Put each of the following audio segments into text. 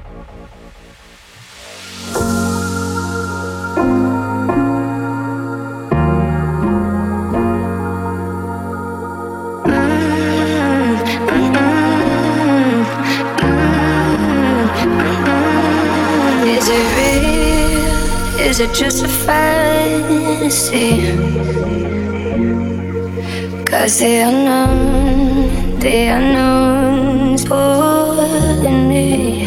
Is it real? Is it just a fantasy? 'Cause the unknown's pulling me.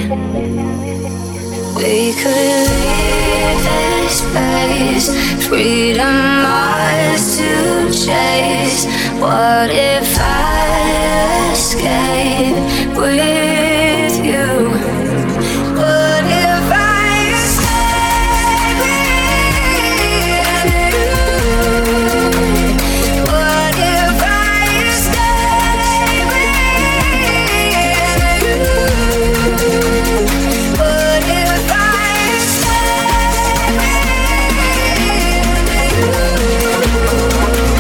We could leave this place, freedom ours to chase. What if I escape with you? What if I escape with you? What if I escape with you? What if I escape with you?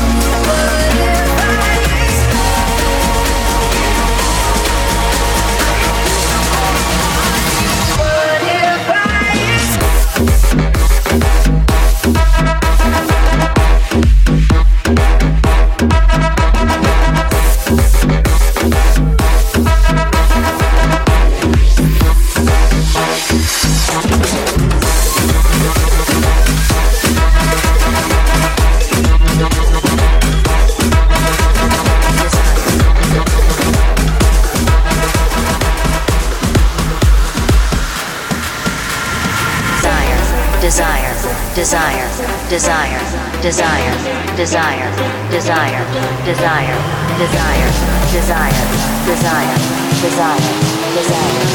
Desire, desire, desire, desire, desire, desire, desire, desire, desire, desire, desire,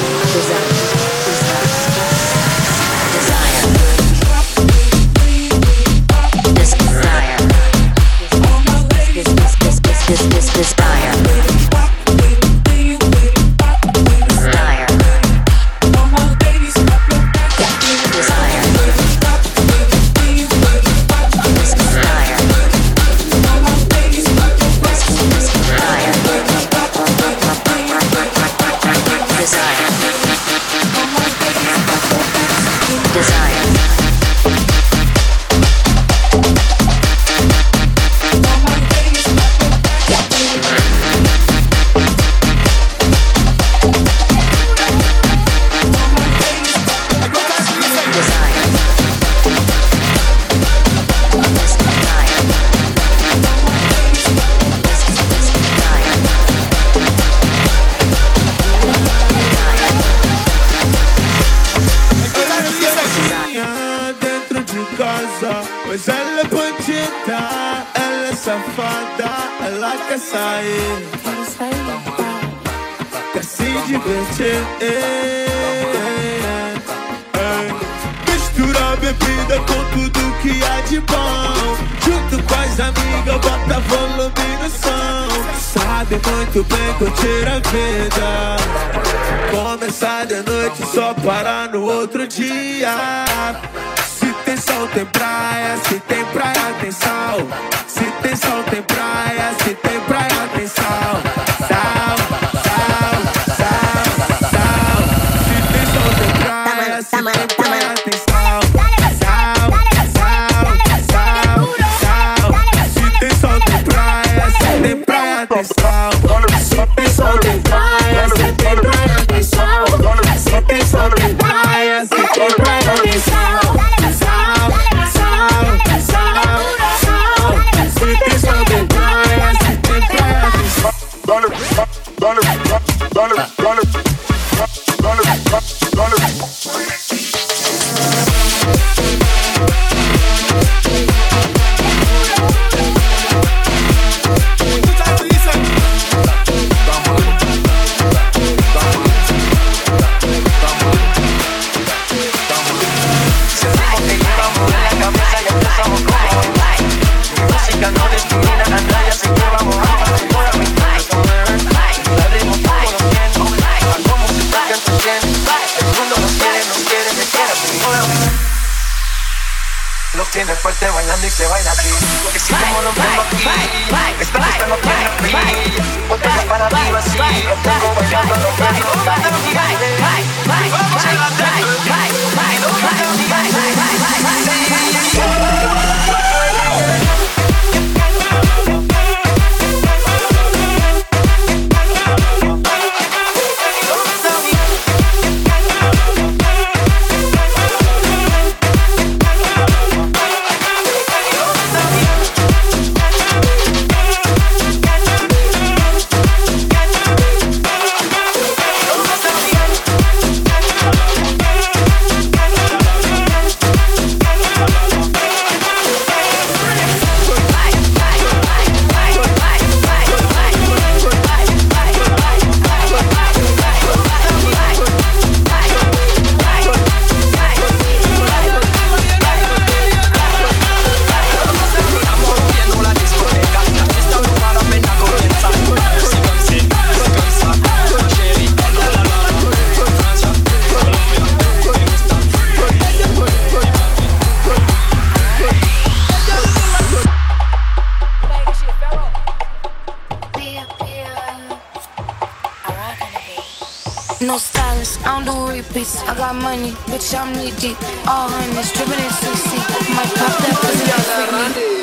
Pois ela é bandida, ela é safada, ela quer sair, quer se divertir. Mistura bebida com tudo que há de bom, junto com as amigas, bota volume no som. Sabe muito bem curtir a vida, começar de noite só parar no outro dia. Se tem sol tem praia, se tem praia tem sal. Se tem sol tem praia, se tem praia tem sal. Sal, sal, sal, sal. Se tem sol tem praia, se tem praia tem sal. Sal, sal, sal, sal. Se tem sol tem praia, se tem praia tem sal. Se tem sol tem praia, se tem praia tem sal. Se tem sol tem praia, se tem praia tem sal. Tiene fuerte bailando y se baila así. Que si como lo vemos aquí, esta fiesta no tiene fin. Botella para arriba así, lo tengo bailando, lo tengo bailando. No stylist, I don't do repeats. I got money, bitch, I'm knee deep. All hundreds, dripping in 60. Might pop that pussy like Britney.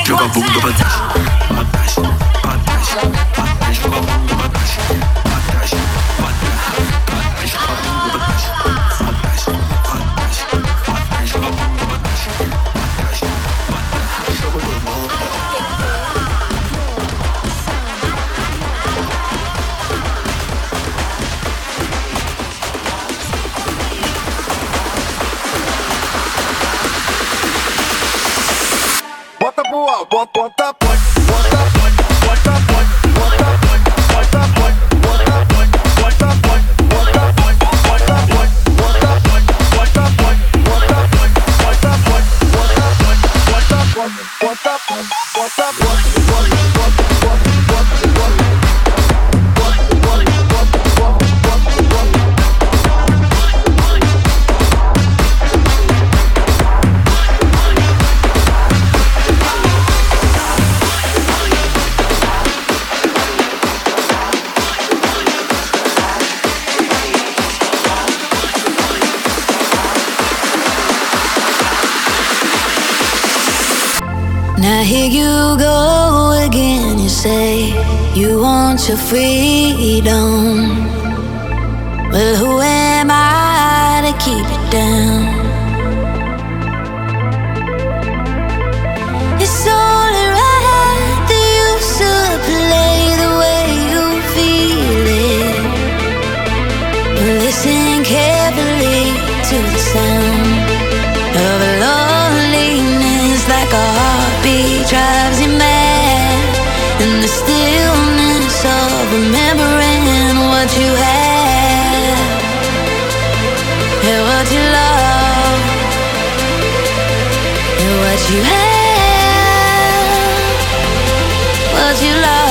joga a bunda pra trás, pra trás, pra trás, pra trás, joga a bunda pra trás, pra trás, pra trás, pra trás, joga a bunda pra trás, pra trás, pra trás, pra trás, joga a bunda pra trás, pra trás, pra trás, joga a bunda. Bota pro alto, bota, bota, bota, bota, bota, bota, bota, bota, Now here you go again, you say you want your freedom. Well, who am I to keep it down? It's only right that you should play the way you feel it. Listen carefully to the sound of loneliness, like a heartbeat drives you mad, and the stillness of remembering what you had and what you love and what you had, what you love.